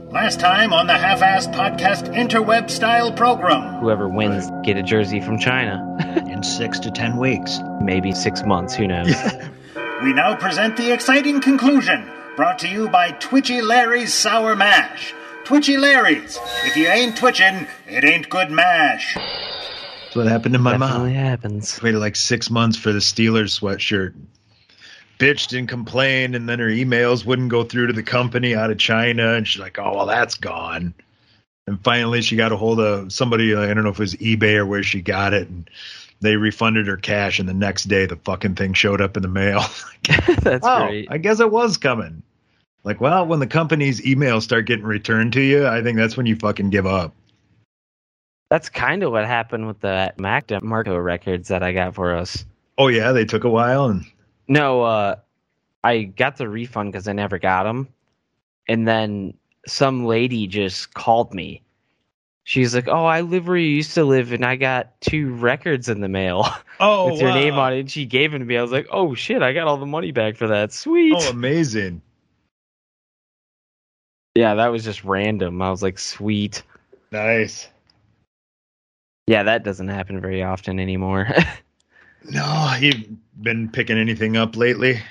Last time on the Half-Assed Podcast interweb style program. Whoever wins, get a jersey from China. In 6 to 10 weeks. Maybe 6 months, who knows? We now present the exciting conclusion, brought to you by Twitchy Larry's Sour Mash. Twitchy Larry's. If you ain't twitching, it ain't good mash. That's what happened to my Definitely mom. happens. Waited like 6 months for the Steelers sweatshirt. Bitched and complained, and then her emails wouldn't go through to the company out of China, and she's like, oh, well, that's gone. And finally, she got a hold of somebody, I don't know if it was eBay or where she got it, and they refunded her cash, and the next day, the fucking thing showed up in the mail. That's great. I guess it was coming. Like, well, when the company's emails start getting returned to you, I think that's when you fucking give up. That's kind of what happened with the Mac Marco records that I got for us. Oh, yeah, they took a while, and... No, I got the refund because I never got them. And then some lady just called me. She's like, oh, I live where you used to live, and I got 2 records in the mail with your name on it. And she gave it to me. I was like, oh, shit, I got all the money back for that. Sweet. Oh, amazing. Yeah, that was just random. I was like, sweet. Nice. Yeah, that doesn't happen very often anymore. No, you've been picking anything up lately?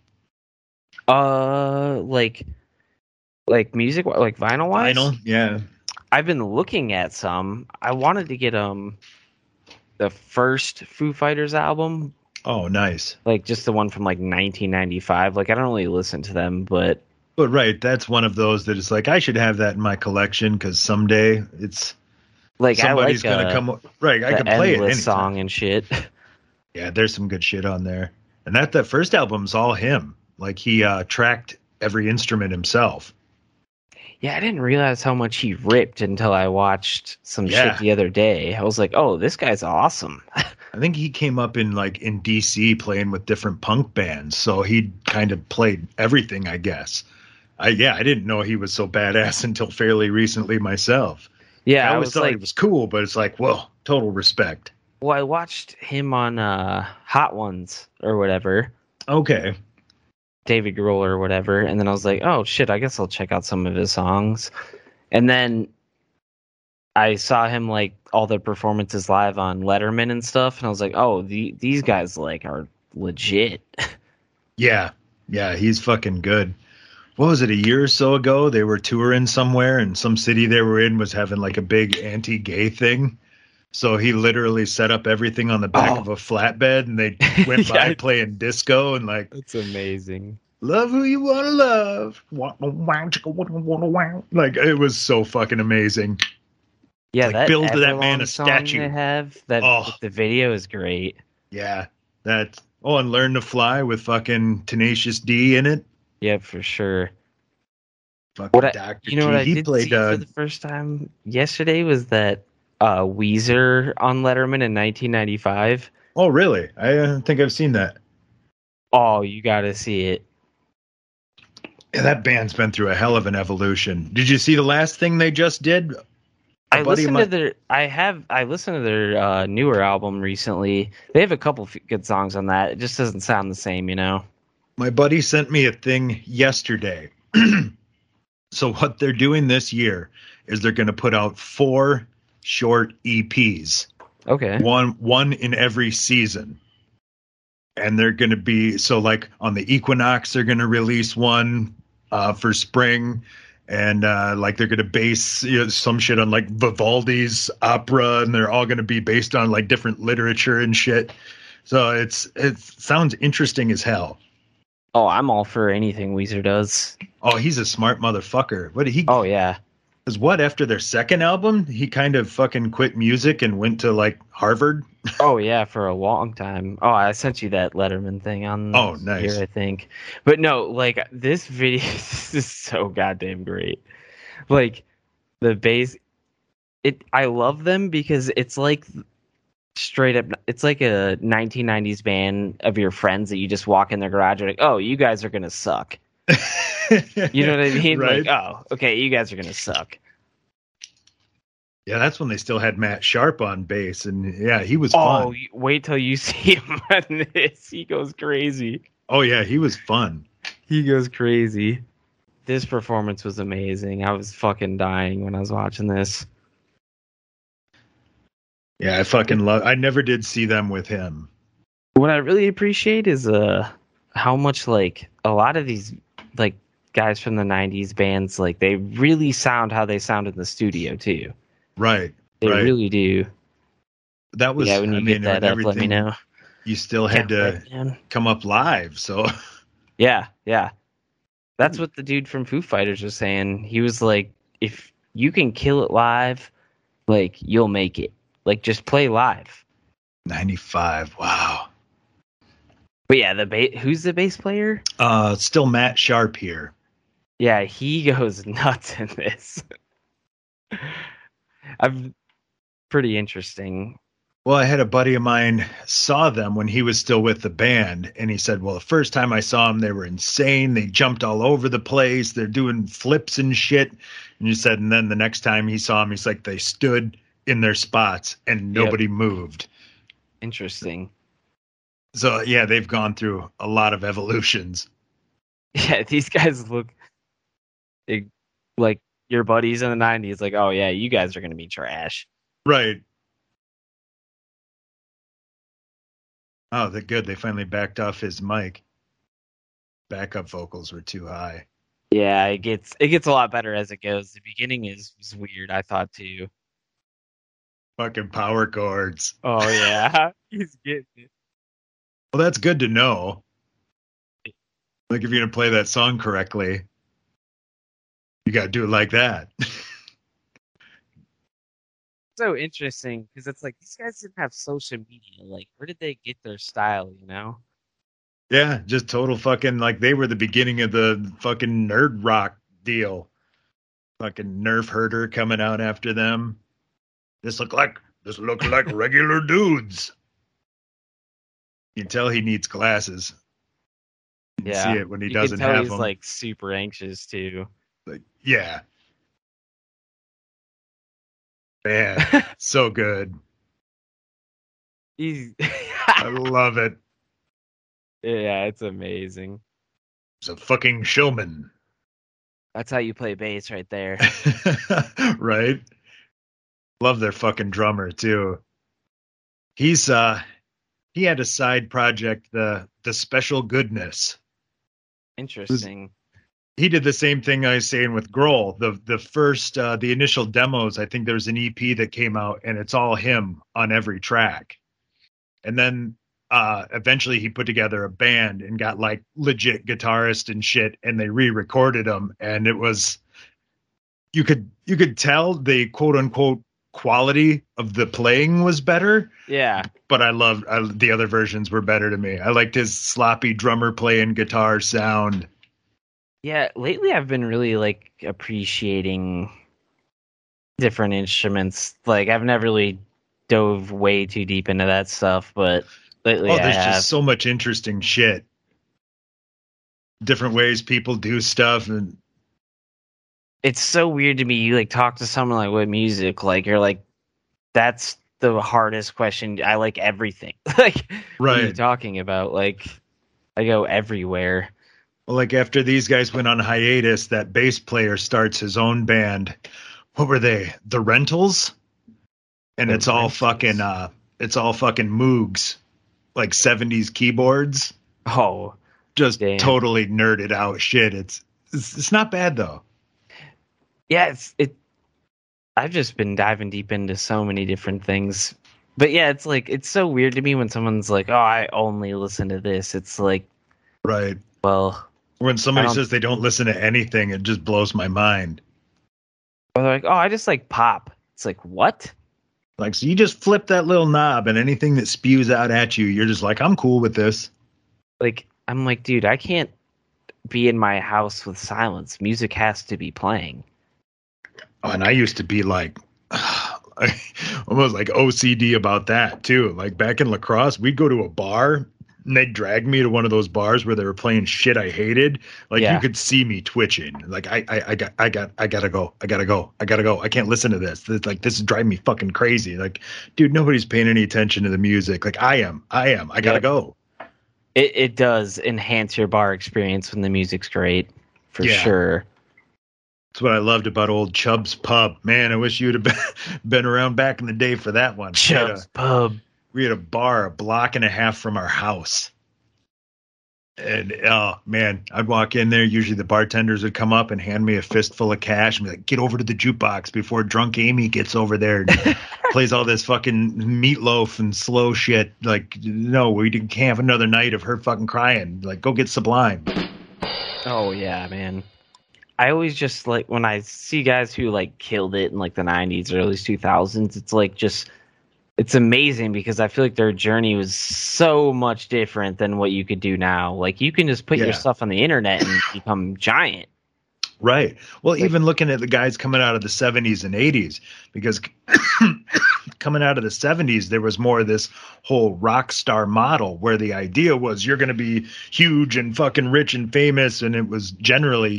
Like music, like vinyl wise. Vinyl, yeah. I've been looking at some. I wanted to get the first Foo Fighters album. Oh, nice. Like just the one from like 1995. Like I don't really listen to them, but right, that's one of those that is like I should have that in my collection because someday it's like somebody's gonna come. Right, I can play it. Endless song and shit. Yeah, there's some good shit on there. And that first album's all him. Like he tracked every instrument himself. Yeah, I didn't realize how much he ripped until I watched some shit the other day. I was like, oh, this guy's awesome. I think he came up in DC playing with different punk bands. So he kind of played everything, I guess. I didn't know he was so badass until fairly recently myself. Yeah, I always thought it was cool, but it's like, whoa, total respect. Well, I watched him on Hot Ones or whatever. Okay. David Grohl or whatever. And then I was like, oh, shit, I guess I'll check out some of his songs. And then I saw him, like, all the performances live on Letterman and stuff. And I was like, oh, these guys, like, are legit. Yeah. Yeah, he's fucking good. What was it, a year or so ago? They were touring somewhere, and some city they were in was having, like, a big anti-gay thing. So he literally set up everything on the back of a flatbed, and they went by playing disco and like. That's amazing. Love who you want to love. Like, it was so fucking amazing. Yeah, like, that build Everlong that man a song statue. They have the video is great. Yeah, and Learn to Fly with fucking Tenacious D in it. Yeah, for sure. Fucking Dr. You know what I he did played, see for the first time yesterday was that Weezer on Letterman in 1995. Oh, really? I think I've seen that. Oh, you got to see it. Yeah, that band's been through a hell of an evolution. Did you see the last thing they just did? I listened to their newer album recently. They have a couple good songs on that. It just doesn't sound the same, you know. My buddy sent me a thing yesterday. So what they're doing this year is they're going to put out 4 short EPs. Okay. One in every season. And they're going to be, so like on the equinox, they're going to release one for spring. And like they're going to base some shit on like Vivaldi's opera. And they're all going to be based on like different literature and shit. So it sounds interesting as hell. Oh, I'm all for anything Weezer does. Oh, he's a smart motherfucker. What did he? Oh, yeah. Because after their second album, he kind of fucking quit music and went to like Harvard. Oh, yeah, for a long time. Oh, I sent you that Letterman thing on nice. here, I think. But no, like this video this is so goddamn great. Like the bass, I love them because it's like straight up, it's like a 1990s band of your friends that you just walk in their garage and like, oh, you guys are going to suck. You know what I mean? Right. Like, oh, okay, you guys are going to suck. Yeah, that's when they still had Matt Sharp on bass, and yeah, he was fun. Oh, wait till you see him on this. He goes crazy. Oh, yeah, he was fun. He goes crazy. this performance was amazing. I was fucking dying when I was watching this. Yeah, I fucking love. I never did see them with him. What I really appreciate is how much like a lot of these like guys from the 90s bands, like they really sound how they sound in the studio too. Right. They right. really do. That was, yeah, when you get that up, let me know. You still had to come up live, so. Yeah. That's what the dude from Foo Fighters was saying. He was like, if you can kill it live, like, you'll make it. Like, just play live. 95, wow. But yeah, who's the bass player? Still Matt Sharp here. Yeah, he goes nuts in this. Pretty interesting. Well, I had a buddy of mine saw them when he was still with the band, and he said, well, the first time I saw them, they were insane. They jumped all over the place. They're doing flips and shit. And he said, and then the next time he saw them, he's like, they stood in their spots and nobody moved. Interesting. So, yeah, they've gone through a lot of evolutions. Yeah, these guys look like your buddies in the 90s. Like, oh, yeah, you guys are going to be trash. Right. Oh, they're good. They finally backed off his mic. Backup vocals were too high. Yeah, it gets a lot better as it goes. The beginning was weird, I thought, too. Fucking power chords. Oh, yeah. He's getting it. Well, that's good to know. Like, if you're going to play that song correctly, you got to do it like that. So interesting, because it's like, these guys didn't have social media. Like, where did they get their style, you know? Yeah, just total fucking, like, they were the beginning of the fucking nerd rock deal. Fucking Nerf Herder coming out after them. This look like regular dudes. You can tell he needs glasses. You can see it when he doesn't have them. He's like super anxious too. Like, yeah. Man, so good. I love it. Yeah, it's amazing. He's a fucking showman. That's how you play bass right there. Right? Love their fucking drummer too. He's he had a side project, the Special Goodness. Interesting. He did the same thing I was saying with Grohl. The first the initial demos, I think there's an EP that came out and it's all him on every track. And then eventually he put together a band and got like legit guitarist and shit, and they re-recorded them, and it was you could tell the quote unquote quality of the playing was better. Yeah. But the other versions were better to me. I liked his sloppy drummer playing guitar sound. Yeah, lately I've been really like appreciating different instruments. Like I've never really dove way too deep into that stuff, but lately there's just so much interesting shit. Different ways people do stuff, and it's so weird to me. You like talk to someone like with music, like you're like, that's the hardest question. I like everything. Like, right. What are you talking about? Like, I go everywhere. Well, like after these guys went on hiatus, that bass player starts his own band. What were they? The Rentals? And it's all fucking Moogs, like 70s keyboards. Oh, just damn. Totally nerded out shit. It's not bad though. Yeah, I've just been diving deep into so many different things. But yeah, it's like it's so weird to me when someone's like, "Oh, I only listen to this." It's like, right. Well, when somebody says they don't listen to anything, it just blows my mind. Or they're like, "Oh, I just like pop." It's like, "What?" Like, so you just flip that little knob and anything that spews out at you, you're just like, "I'm cool with this." Like, I'm like, dude, I can't be in my house with silence. Music has to be playing. Oh, and I used to be like almost like OCD about that too. Like back in lacrosse, we'd go to a bar and they'd drag me to one of those bars where they were playing shit I hated. Like you could see me twitching. Like I gotta go. I gotta go. I can't listen to this. This is driving me fucking crazy. Like, dude, nobody's paying any attention to the music. Like I am. I gotta go. It does enhance your bar experience when the music's great, for sure. That's what I loved about old Chubb's Pub. Man, I wish you'd have been around back in the day for that one. Chubb's Pub. We had a bar a block and a half from our house. And, oh, man, I'd walk in there. Usually the bartenders would come up and hand me a fistful of cash and be like, get over to the jukebox before drunk Amy gets over there and plays all this fucking Meatloaf and slow shit. Like, no, we can't have another night of her fucking crying. Like, go get Sublime. Oh, yeah, man. I always just, like, when I see guys who, like, killed it in, like, the 90s, early 2000s, it's, like, just... It's amazing because I feel like their journey was so much different than what you could do now. Like, you can just put your stuff on the internet and become giant. Right. Well, even looking at the guys coming out of the 70s and 80s, because coming out of the 70s, there was more of this whole rock star model where the idea was you're going to be huge and fucking rich and famous. And it was generally,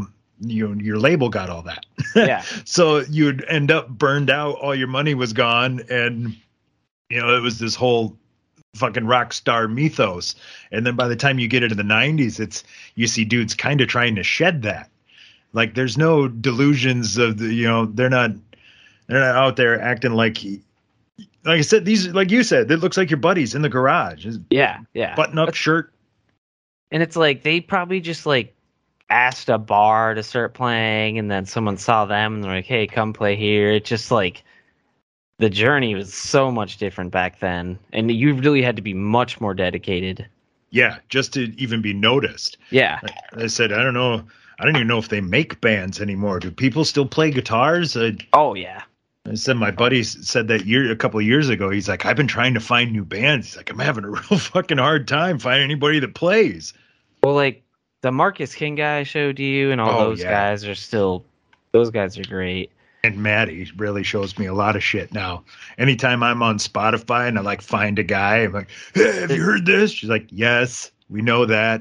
your label got all that. Yeah. So you'd end up burned out. All your money was gone. And, it was this whole fucking rock star mythos. And then by the time you get into the 90s, you see dudes kind of trying to shed that. Like, there's no delusions of they're not out there acting like I said, these, like you said, it looks like your buddies in the garage. Yeah. Button up shirt. And it's like, they probably just like asked a bar to start playing, and then someone saw them and they're like, hey, come play here. It's just like, the journey was so much different back then, and you really had to be much more dedicated. Yeah, just to even be noticed. Yeah. I said, I don't know. I don't even know if they make bands anymore. Do people still play guitars? Oh, yeah. I said my buddy said that a couple of years ago. He's like, I've been trying to find new bands. He's like, I'm having a real fucking hard time finding anybody that plays. Well, like the Marcus King guy I showed you and all those guys are still, those guys are great. And Maddie really shows me a lot of shit now. Anytime I'm on Spotify and I like find a guy, I'm like, hey, have you heard this? She's like, yes, we know that.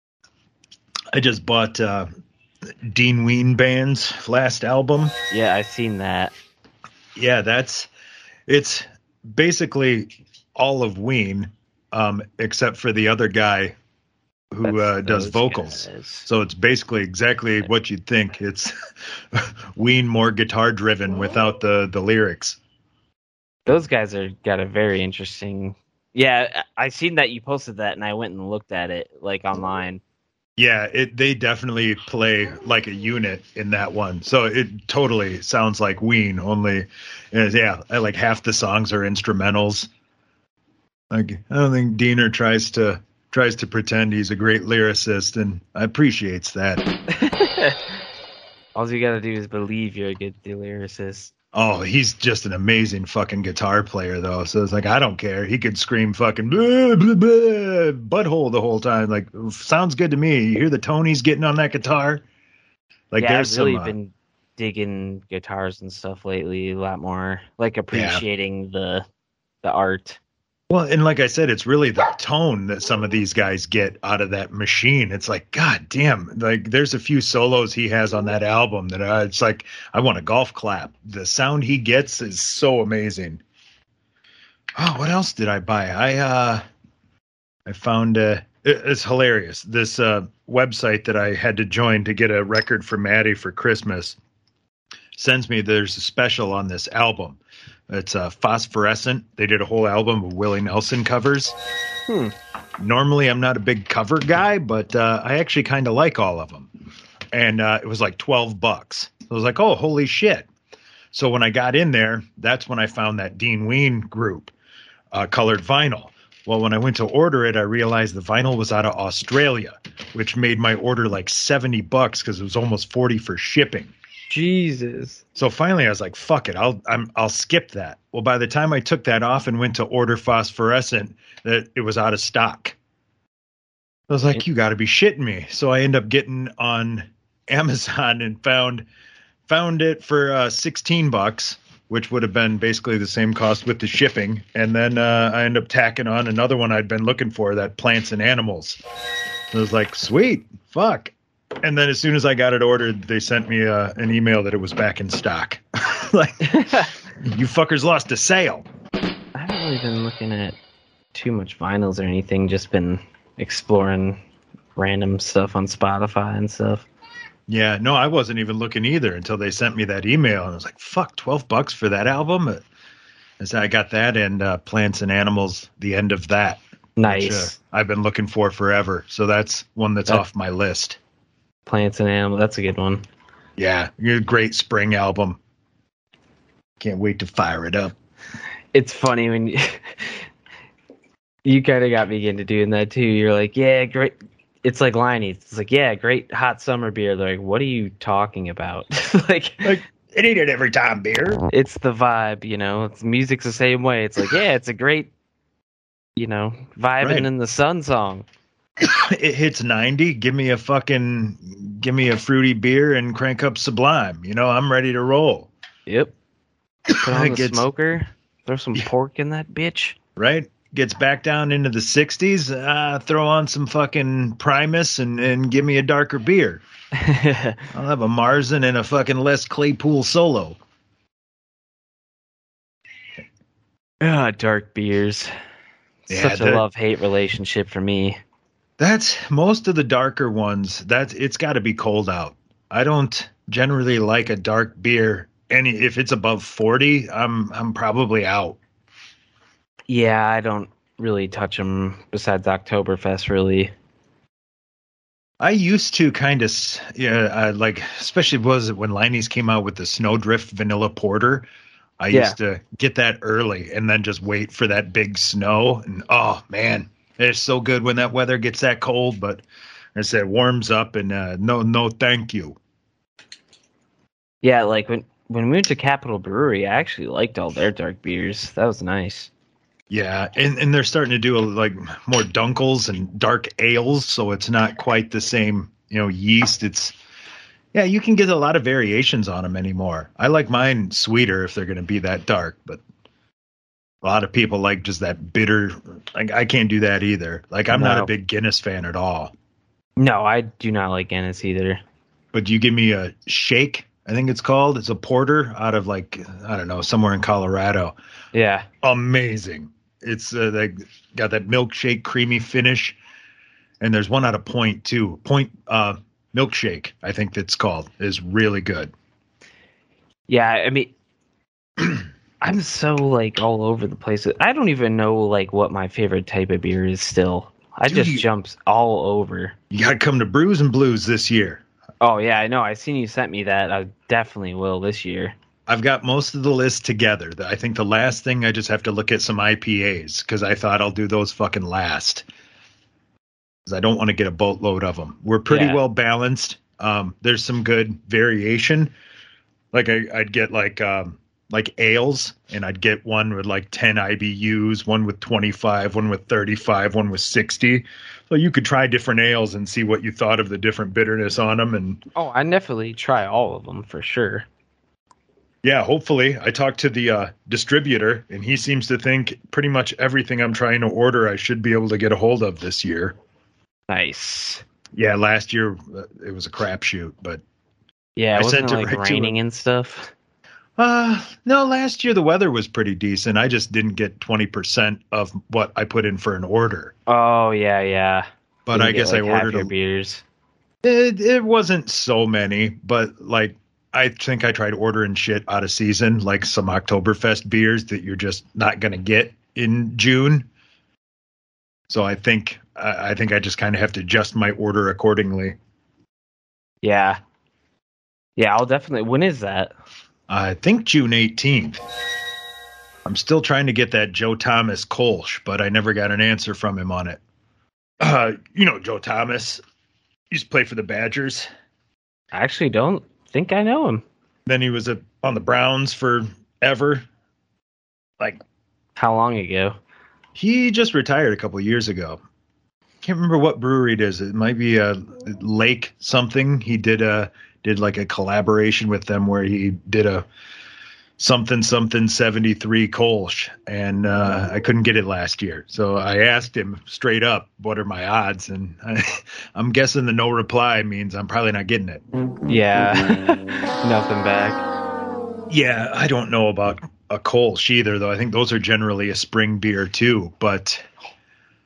I just bought Dean Ween Band's last album. Yeah, I've seen that. Yeah, it's basically all of Ween, except for the other guy who does vocals. Guys. So it's basically exactly what you'd think. It's Ween more guitar driven without the lyrics. Those guys got a very interesting. Yeah, I seen that you posted that, and I went and looked at it like online. Yeah, they definitely play like a unit in that one. So it totally sounds like Ween, only, like half the songs are instrumentals. Like, I don't think Diener tries to pretend he's a great lyricist, and I appreciates that. All you gotta do is believe you're a good lyricist. Oh, he's just an amazing fucking guitar player, though. So it's like, I don't care. He could scream fucking blah, blah, blah, butthole the whole time. Like, sounds good to me. You hear the tone he's getting on that guitar? Like, yeah, there's I've really been digging guitars and stuff lately a lot more. Like, appreciating the art. Well, and like I said, it's really the tone that some of these guys get out of that machine. It's like, God damn, like there's a few solos he has on that album that it's like, I want a golf clap. The sound he gets is so amazing. Oh, what else did I buy? I found, it's hilarious. This website that I had to join to get a record for Maddie for Christmas sends me, there's a special on this album. It's Phosphorescent. They did a whole album of Willie Nelson covers. Normally, I'm not a big cover guy, but I actually kind of like all of them. And it was like $12. I was like, oh, holy shit. So when I got in there, that's when I found that Dean Ween group, colored vinyl. Well, when I went to order it, I realized the vinyl was out of Australia, which made my order like $70 because it was almost $40 for shipping. Jesus. So finally I was like, fuck it. I'll skip that. Well, by the time I took that off and went to order Phosphorescent, that it was out of stock. I was like, you got to be shitting me. So I ended up getting on Amazon and found it for $16, which would have been basically the same cost with the shipping. And then I ended up tacking on another one I'd been looking for, that Plants and Animals. I was like, sweet, fuck. And then as soon as I got it ordered, they sent me an email that it was back in stock. Like, you fuckers lost a sale. I haven't really been looking at too much vinyls or anything. Just been exploring random stuff on Spotify and stuff. Yeah, no, I wasn't even looking either until they sent me that email, and I was like, "Fuck, $12 for that album." And so I got that and Plants and Animals, the end of that, which Nice. I've been looking for forever. So that's one that's That- off my list. Plants and Animals. That's a good one. Yeah, a great spring album. Can't wait to fire it up. It's funny when you kind of got me into doing that too. You're like, yeah, great. It's like Liney. It's like, yeah, great hot summer beer. They're like, what are you talking about? like, It ain't it every time beer. it's the vibe, you know. It's music's the same way. It's like, yeah, it's a great, you know, vibing Right. in the sun song. It hits 90. Give me a fruity beer and crank up Sublime. You know, I'm ready to roll. Yep. Put on the Gets- smoker. Throw some pork in that bitch. Right? Gets back down into the 60s. Throw on some fucking Primus and give me a darker beer. I'll have a Marzen and a fucking Les Claypool solo. Dark beers. Yeah, Such a that- love-hate relationship for me. That's most of the darker ones. It's got to be cold out. I don't generally like a dark beer. If it's above 40, I'm probably out. Yeah, I don't really touch them besides Oktoberfest, really. I used to kind of, like, especially was it when Liney's came out with the Snowdrift Vanilla Porter. I used to get that early and then just wait for that big snow. And oh man, it's so good when that weather gets that cold. But as I said, it warms up and no, thank you. Yeah, like when we went to Capitol Brewery, I actually liked all their dark beers. That was nice. Yeah, and they're starting to do like more dunkels and dark ales, so it's not quite the same, yeast. You can get a lot of variations on them anymore. I like mine sweeter if they're going to be that dark, but a lot of people like just that bitter. Like I can't do that either. Like I'm not a big Guinness fan at all. No, I do not like Guinness either. But you give me a Shake, I think it's called. It's a porter out of like, I don't know, somewhere in Colorado. Yeah. Amazing. It's they got that milkshake creamy finish, and there's one out of Point too. Point milkshake, I think that's called, is really good. Yeah, I mean, I'm so like all over the place. I don't even know like what my favorite type of beer is still. I Dude, just jumps all over. You got to come to Brews and Blues this year. Oh yeah, I know. I seen you sent me that. I definitely will this year. I've got most of the list together. I think the last thing I just have to look at some IPAs because I thought I'll do those fucking last. Because I don't want to get a boatload of them. We're pretty well balanced. There's some good variation. Like I'd get like ales, and I'd get one with like 10 IBUs, one with 25, one with 35, one with 60. So you could try different ales and see what you thought of the different bitterness on them. And I definitely try all of them for sure. yeah, hopefully. I talked to the distributor, and he seems to think pretty much everything I'm trying to order I should be able to get a hold of this year. Nice. Yeah, last year it was a crapshoot, but yeah, I wasn't sent it it like right to raining and stuff? no, last year the weather was pretty decent. I just didn't get 20% of what I put in for an order. Oh yeah. But I guess I ordered your beers. It wasn't so many, but like I think I tried ordering shit out of season, like some Oktoberfest beers that you're just not going to get in June. So I think I just kind of have to adjust my order accordingly. Yeah, I'll definitely. When is that? I think June 18th. I'm still trying to get that Joe Thomas Kolsch, but I never got an answer from him on it. Joe Thomas used to play for the Badgers. I actually don't think I know him. Then he was on the Browns forever. Like, how long ago? He just retired a couple of years ago. Can't remember what brewery it is. It might be a Lake something. He did like a collaboration with them where he did a something 73 Kolsch, and I couldn't get it last year. So I asked him straight up, what are my odds? And I'm guessing the no reply means I'm probably not getting it. Yeah, nothing back. Yeah, I don't know about a Kolsch either, though. I think those are generally a spring beer too, but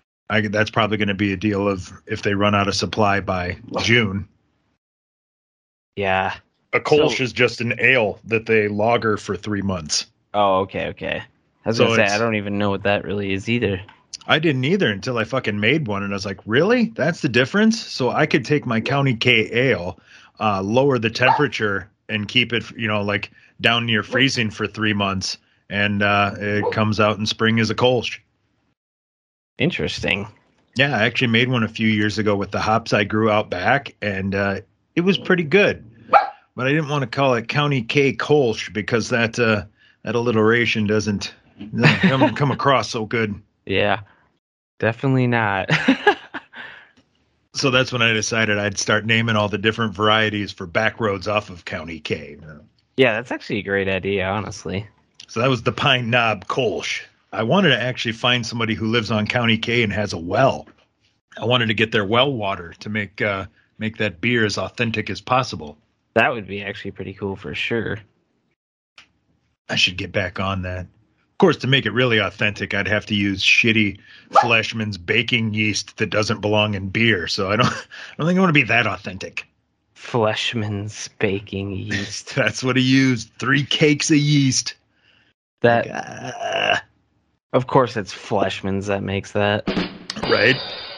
that's probably going to be a deal of if they run out of supply by June. Yeah. A Kolsch So- is just an ale that they lager for 3 months. Oh, okay. I was So gonna say I it's- don't even know what that really is either. I didn't either until I fucking made one, and I was like, really? That's the difference? So I could take my County K ale, lower the temperature, and keep it, like down near freezing for 3 months, and it comes out in spring as a Kolsch. Interesting. Yeah, I actually made one a few years ago with the hops I grew out back, and it was pretty good. But I didn't want to call it County K Kolsch because that alliteration doesn't come across so good. Yeah. Definitely not. So that's when I decided I'd start naming all the different varieties for back roads off of County K. Yeah, that's actually a great idea, honestly. So that was the Pine Knob Kolsch. I wanted to actually find somebody who lives on County K and has a well. I wanted to get their well water to make that beer as authentic as possible. That would be actually pretty cool for sure. I should get back on that. Of course, to make it really authentic, I'd have to use shitty Fleshman's baking yeast that doesn't belong in beer. So I don't think I want to be that authentic. Fleshman's baking yeast. That's what he used. 3 cakes of yeast. That, Like, of course, it's Fleshman's that makes that. right?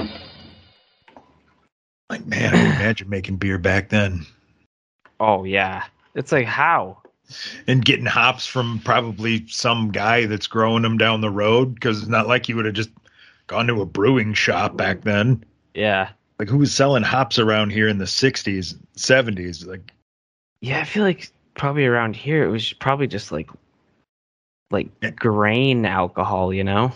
Like, man, I can imagine making beer back then. Oh yeah, it's like how? And getting hops from probably some guy that's growing them down the road, because it's not like you would have just gone to a brewing shop back then. Yeah, Like, who was selling hops around here in the 60s, 70s? Like, yeah. I feel like probably around here it was probably just like grain alcohol, you know?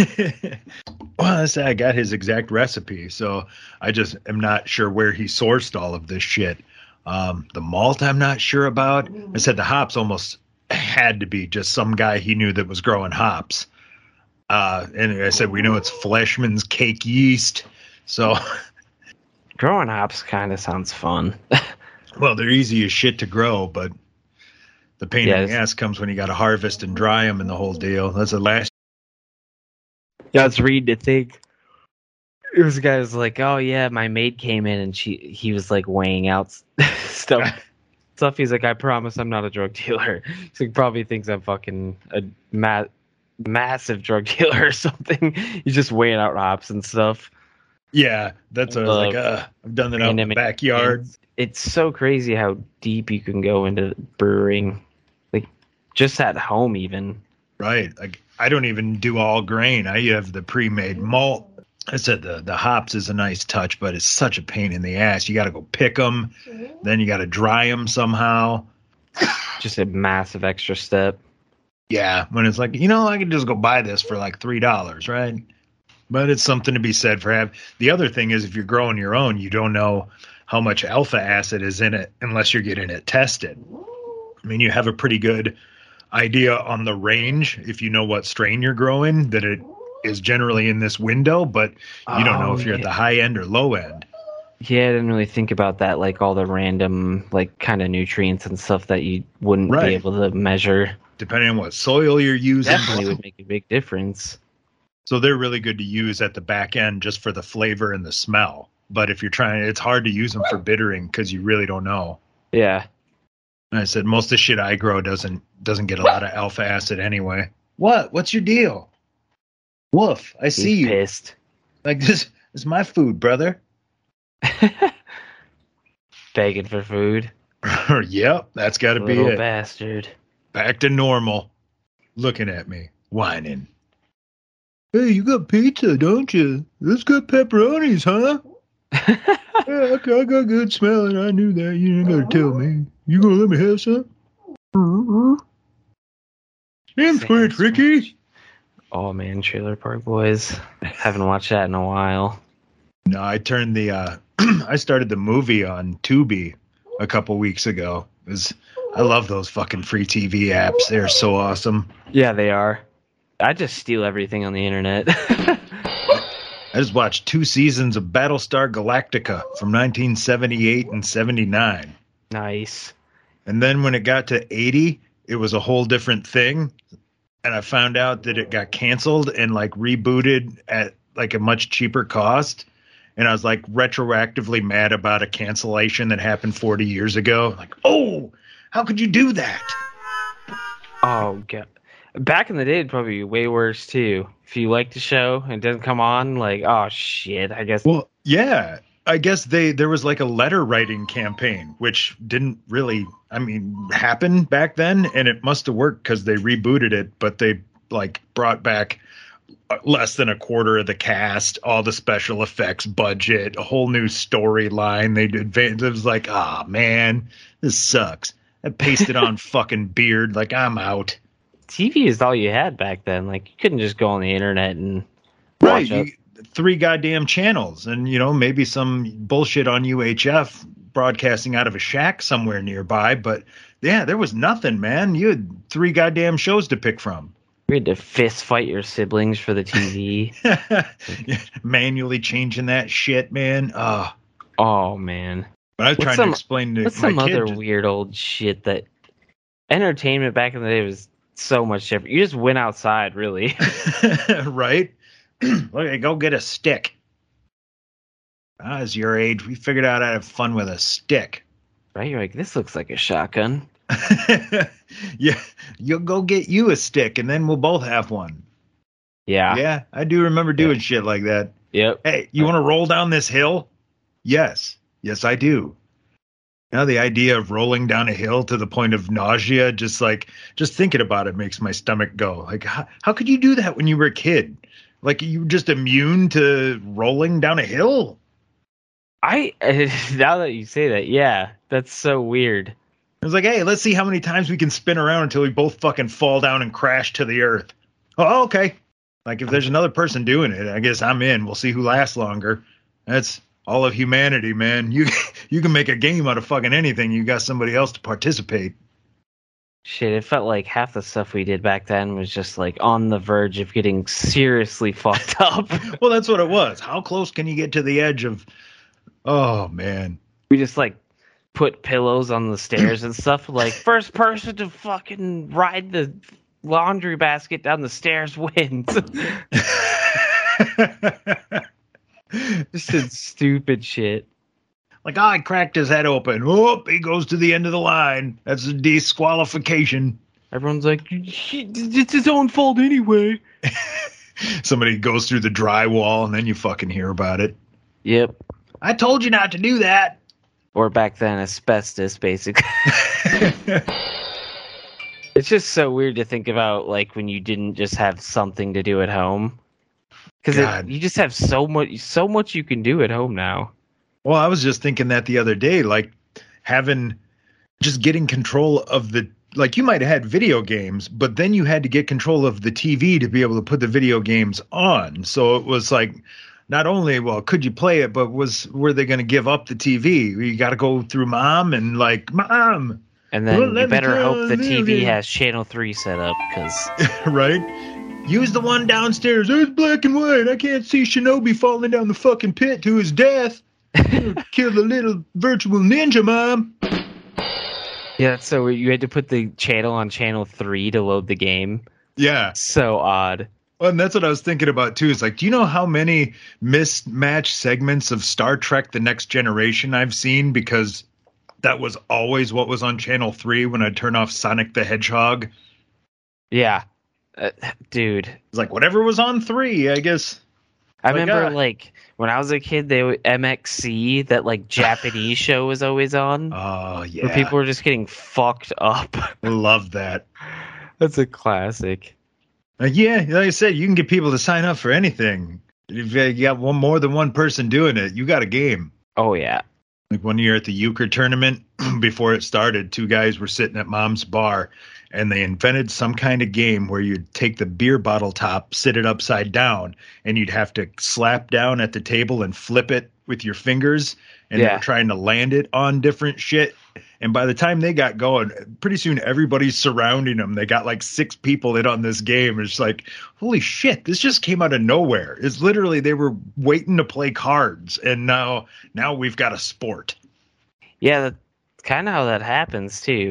well, I say I got his exact recipe, so I just am not sure where he sourced all of this shit. The malt I'm not sure about. I said the hops almost had to be just some guy he knew that was growing hops. And I said, we know it's Fleshman's cake yeast. So, Growing hops kind of sounds fun. well, they're easy as shit to grow, but the pain in the ass comes when you got to harvest and dry them and the whole deal. That's the last. Yeah, I was reading a thing. It was a guy who was like, "Oh yeah, my maid came in and he was like weighing out stuff. He's like, I promise I'm not a drug dealer. He's like, probably thinks I'm fucking a massive drug dealer or something. He's just weighing out hops and stuff. Yeah, that's what I was like. I've done that out in the backyard. It's so crazy how deep you can go into brewing, like just at home even. Right. Like, I don't even do all grain. I have the pre-made malt. I said the hops is a nice touch, but it's such a pain in the ass. You got to go pick them, then you got to dry them somehow. Just a massive extra step. Yeah, when it's like, I can just go buy this for like $3, right? But it's something to be said for having. The other thing is, if you're growing your own, you don't know how much alpha acid is in it unless you're getting it tested. I mean, you have a pretty good idea on the range if you know what strain you're growing, that it is generally in this window, but you don't know if you're at the high end or low end. Yeah, I didn't really think about that, like all the random, like kind of nutrients and stuff that you wouldn't be able to measure. Depending on what soil you're using. Definitely would make a big difference. So they're really good to use at the back end just for the flavor and the smell. But if you're trying, it's hard to use them for bittering because you really don't know. Yeah. And I said, most of the shit I grow doesn't get a lot of alpha acid anyway. What? What's your deal? Woof, I see you. Pissed. Like, this is my food, brother. Begging for food. Yep, that's got to be Little it. bastard. Back to normal. Looking at me, whining. Hey, you got pizza, don't you? It's got pepperonis, huh? Yeah, I got good smelling. I knew that. You didn't got to tell me. You gonna let me have some? Sam Squinch, Ricky. Oh man, Trailer Park Boys. Haven't watched that in a while. No, I turned the I started the movie on Tubi a couple weeks ago. I love those fucking free TV apps. They're so awesome. Yeah, they are. I just steal everything on the internet. I just watched 2 seasons of Battlestar Galactica from 1978 and 79. Nice. And then when it got to 80, it was a whole different thing. And I found out that it got canceled and like rebooted at like a much cheaper cost. and I was like retroactively mad about a cancellation that happened 40 years ago. Like, oh, how could you do that? Oh god. Back in the day, it'd probably be way worse too. If you liked the show and it doesn't come on, like, oh shit, I guess. Well, yeah, I guess there was like a letter writing campaign, which didn't really, happen back then, and it must have worked because they rebooted it, but they like brought back less than a quarter of the cast, all the special effects budget, a whole new storyline. They did. It was like, ah, man, this sucks. I pasted on fucking beard. Like, I'm out. TV is all you had back then. Like, you couldn't just go on the internet and watch it. 3 goddamn channels, and maybe some bullshit on UHF broadcasting out of a shack somewhere nearby. But yeah, there was nothing, man. You had 3 goddamn shows to pick from. You had to fist fight your siblings for the TV. Manually changing that shit, man. Oh man. But I was trying to explain to what's my some kid other weird old shit that entertainment back in the day was so much different. You just went outside, really. Right? Look, go get a stick. As your age, we figured out how to have fun with a stick. Right? You're like, this looks like a shotgun. Yeah, you'll go get you a stick, and then we'll both have one. Yeah, I do remember doing shit like that. Yep. Hey, you want to roll down this hill? Yes, I do. Now the idea of rolling down a hill to the point of nausea, just thinking about it makes my stomach go. Like, how could you do that when you were a kid? Like, you were just immune to rolling down a hill? Now that you say that, yeah, that's so weird. It was like, hey, let's see how many times we can spin around until we both fucking fall down and crash to the earth. Oh, okay. Like, if there's another person doing it, I guess I'm in. We'll see who lasts longer. That's all of humanity, man. You can make a game out of fucking anything. You got somebody else to participate. Shit, it felt like half the stuff we did back then was just like on the verge of getting seriously fucked up. Well, that's what it was. How close can you get to the edge of... Oh, man. We just like put pillows on the stairs and stuff. Like, first person to fucking ride the laundry basket down the stairs wins. Just did stupid shit. Like, I cracked his head open. Oh, he goes to the end of the line. That's a disqualification. Everyone's like, it's his own fault anyway. Somebody goes through the drywall, and then you fucking hear about it. Yep. I told you not to do that. Or back then, asbestos, basically. It's just so weird to think about, like, when you didn't just have something to do at home. Because you just have so much you can do at home now. Well, I was just thinking that the other day, like getting control of you might have had video games, but then you had to get control of the TV to be able to put the video games on. So it was like, not only, could you play it, but were they going to give up the TV? You got to go through mom and like, Mom. And then you better hope the TV has channel 3 set up, because right. Use the one downstairs. It's black and white. I can't see Shinobi falling down the fucking pit to his death. Kill the little virtual ninja, Mom. Yeah, so you had to put the channel on channel 3 to load the game. Yeah. So odd. Well, and that's what I was thinking about, too. It's like, do you know how many mismatched segments of Star Trek The Next Generation I've seen? Because that was always what was on channel 3 when I'd turn off Sonic the Hedgehog. Yeah. Dude. It's like, whatever was on 3, I guess. I remember, like, when I was a kid, MXC, that, like, Japanese show was always on. Oh, yeah. Where people were just getting fucked up. I love that. That's a classic. Yeah, like I said, you can get people to sign up for anything. If you got more than one person doing it, you got a game. Oh, yeah. Like one year at the euchre tournament, before it started, 2 guys were sitting at Mom's bar, and they invented some kind of game where you'd take the beer bottle top, sit it upside down, and you'd have to slap down at the table and flip it with your fingers, and they were trying to land it on different shit. And by the time they got going, pretty soon everybody's surrounding them. They got like 6 people in on this game. It's like, holy shit, this just came out of nowhere. It's literally, they were waiting to play cards, and now we've got a sport. Yeah, that's kind of how that happens too.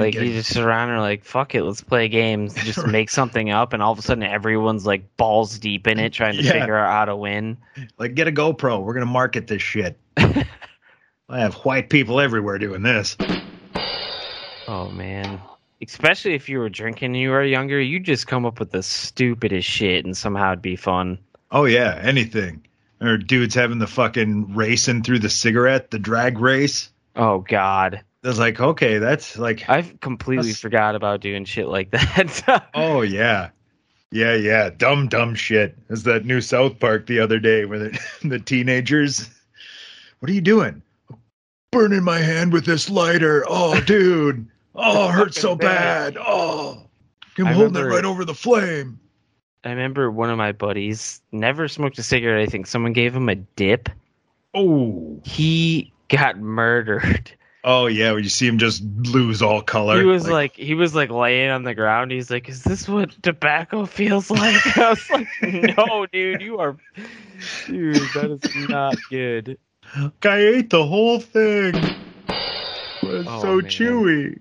Like you just sit around and are like, fuck it, let's play games. Just make something up, and all of a sudden everyone's like balls deep in it, trying to figure out how to win. Like, get a GoPro. We're gonna market this shit. I have white people everywhere doing this. Oh man. Especially if you were drinking and you were younger, you'd just come up with the stupidest shit and somehow it'd be fun. Oh yeah, anything. Or dudes having the fucking racing through the cigarette, the drag race. Oh God. It's like, okay, that's like... I've completely forgot about doing shit like that. Oh yeah. Yeah. Dumb shit. There's that new South Park the other day where the teenagers... What are you doing? Burning my hand with this lighter. Oh, dude. Oh, it hurts so bad. Oh, I'm holding it right over the flame. I remember one of my buddies never smoked a cigarette. I think someone gave him a dip. Oh. He got murdered. Oh, yeah, when you see him just lose all color. He was like laying on the ground. He's like, is this what tobacco feels like? I was like, no, dude, dude, that is not good. I ate the whole thing. It was so man. chewy.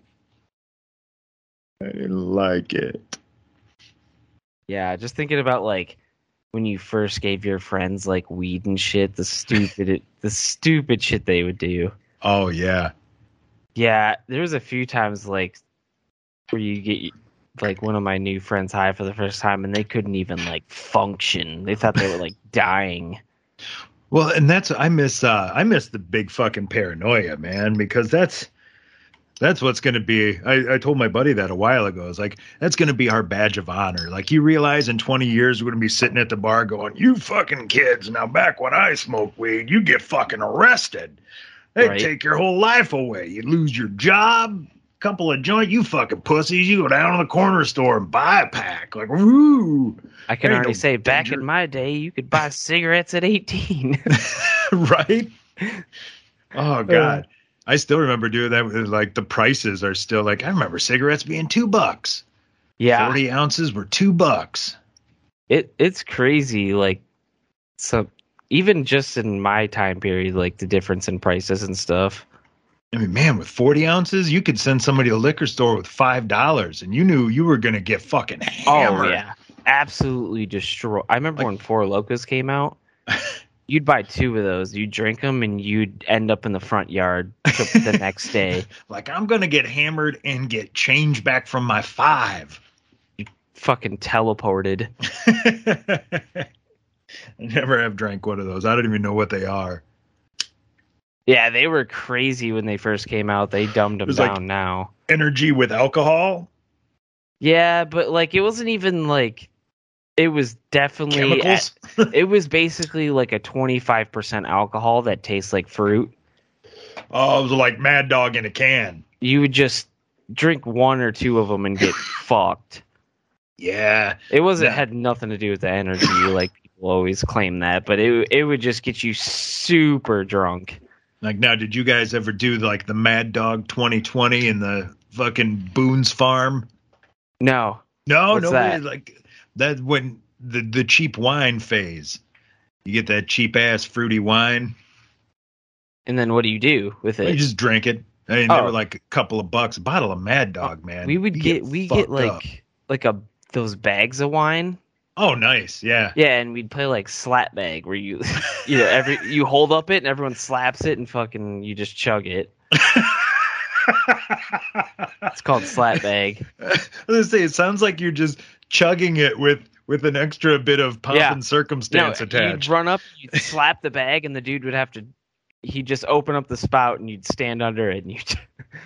I didn't like it. Yeah, just thinking about like when you first gave your friends like weed and shit, the stupid shit they would do. Oh yeah. Yeah, there was a few times like where you get like one of my new friends high for the first time and they couldn't even like function. They thought they were like dying. Well, and I miss the big fucking paranoia, man, because that's what's going to be. I told my buddy that a while ago. It's like, that's going to be our badge of honor. Like, you realize in 20 years, we're going to be sitting at the bar going, you fucking kids. Now, back when I smoked weed, you get fucking arrested. They'd take your whole life away. You'd lose your job, couple of joints. You fucking pussies. You go down to the corner store and buy a pack. Like, woo. I can already say, back in my day, you could buy cigarettes at 18. Right? Oh, God. I still remember doing that. Like, the prices are still like, I remember cigarettes being $2. Yeah. 40 ounces were $2. It's crazy. Like, so even just in my time period, like the difference in prices and stuff. I mean, man, with 40 ounces, you could send somebody to a liquor store with $5 and you knew you were going to get fucking hammered. Oh, yeah. Absolutely destroy. I remember when Four Locos came out. You'd buy 2 of those, you'd drink them, and you'd end up in the front yard the next day. Like, I'm going to get hammered and get change back from my 5. You fucking teleported. I never have drank one of those. I don't even know what they are. Yeah, they were crazy when they first came out. They dumbed them down like now. Energy with alcohol? Yeah, but like it wasn't even like... It was definitely... It was basically like a 25% alcohol that tastes like fruit. Oh, it was like Mad Dog in a can. You would just drink 1 or 2 of them and get fucked. Yeah. It had nothing to do with the energy, like people always claim that, but it would just get you super drunk. Like, now, did you guys ever do like the Mad Dog 2020 in the fucking Boone's Farm? No. No, What's that? Like that when the cheap wine phase. You get that cheap ass fruity wine. And then what do you do with it? You just drink it. I mean, they were like a couple of bucks a bottle of Mad Dog, man. We get like those bags of wine. Oh, nice. Yeah. Yeah, and we'd play like slap bag where you you hold up it and everyone slaps it and fucking you just chug it. It's called slap bag. I was gonna say, it sounds like you're just chugging it with an extra bit of pomp and circumstance attached. You'd run up, you'd slap the bag, and the dude would have to. He'd just open up the spout, and you'd stand under it, and you'd.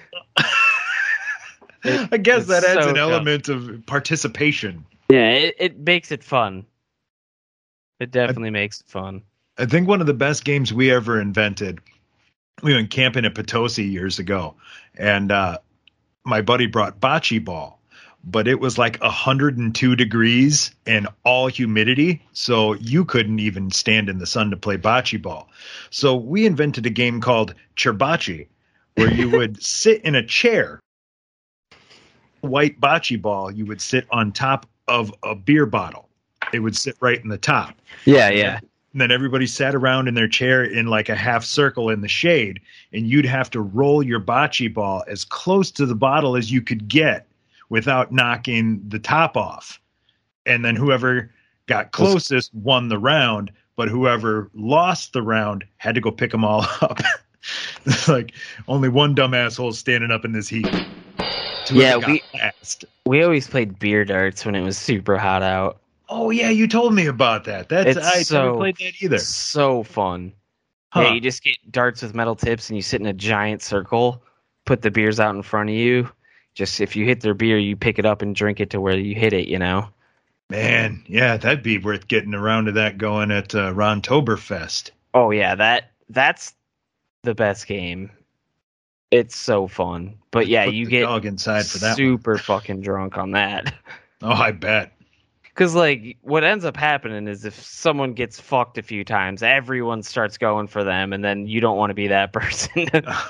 I guess that adds an element of participation. Yeah, it makes it fun. It definitely makes it fun. I think one of the best games we ever invented. We went camping at Potosi years ago, and my buddy brought bocce ball, but it was like 102 degrees and all humidity, so you couldn't even stand in the sun to play bocce ball. So we invented a game called Cherbocce, where you would sit in a chair. White bocce ball, you would sit on top of a beer bottle. It would sit right in the top. Yeah. And then everybody sat around in their chair in like a half circle in the shade, and you'd have to roll your bocce ball as close to the bottle as you could get without knocking the top off. And then whoever got closest won the round, but whoever lost the round had to go pick them all up. It's like only one dumb asshole standing up in this heat. Yeah, we always played beer darts when it was super hot out. Oh yeah, you told me about that. I never played that either. So fun. Huh. Yeah, you just get darts with metal tips and you sit in a giant circle, put the beers out in front of you. Just if you hit their beer, you pick it up and drink it to where you hit it, you know? Man, yeah, that'd be worth getting around to that going at Rontoberfest. Oh yeah, that's the best game. It's so fun. But yeah, you get dog inside for that super fucking drunk on that. Oh, I bet. Because, like, what ends up happening is if someone gets fucked a few times, everyone starts going for them, and then you don't want to be that person.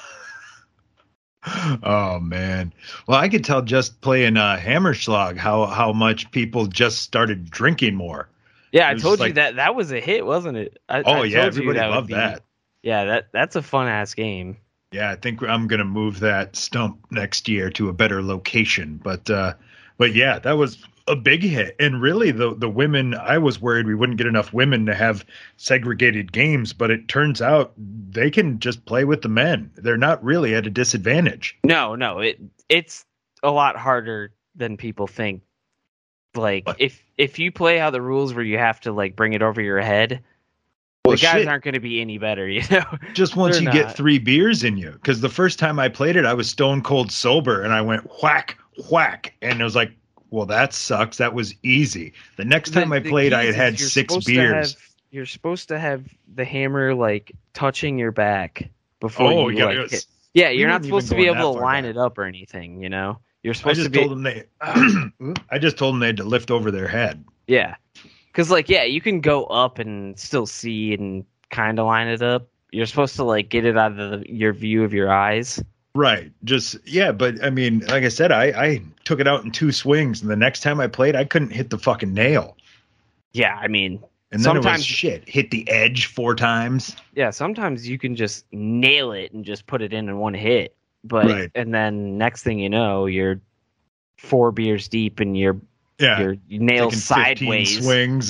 Oh, man. Well, I could tell just playing Hammerschlag how much people just started drinking more. Yeah, I told you that was a hit, wasn't it? Everybody loved that. Yeah, that's a fun-ass game. Yeah, I think I'm going to move that stump next year to a better location. But yeah, that was a big hit. And really, the women, I was worried we wouldn't get enough women to have segregated games, but it turns out they can just play with the men. They're not really at a disadvantage. No, it's a lot harder than people think. Like, if you play how the rules where you have to, like, bring it over your head, the guys aren't going to be any better, you know? Just once you get 3 beers in you. Because the first time I played it, I was stone cold sober, and I went whack, whack. And it was like, well, that sucks. That was easy. The next time I played, I had 6 beers. You're supposed to have the hammer, like, touching your back before you like, hit. Yeah, you're not supposed to be able to line it up or anything, you know? You're supposed to be... I just told them they had to lift over their head. Yeah. Because, like, yeah, you can go up and still see and kind of line it up. You're supposed to, like, get it out of your view of your eyes. Right. But, I mean, like I said, I took it out in 2 swings, and the next time I played, I couldn't hit the fucking nail. Yeah, I mean... And then sometimes, it was hit the edge 4 times. Yeah, sometimes you can just nail it and just put it in one hit. But right. And then next thing you know, you're 4 beers deep and your nail sideways. Swings.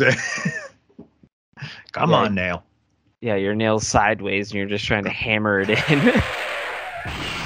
Come on, nail. Yeah, your nail sideways and you're just trying to hammer it in.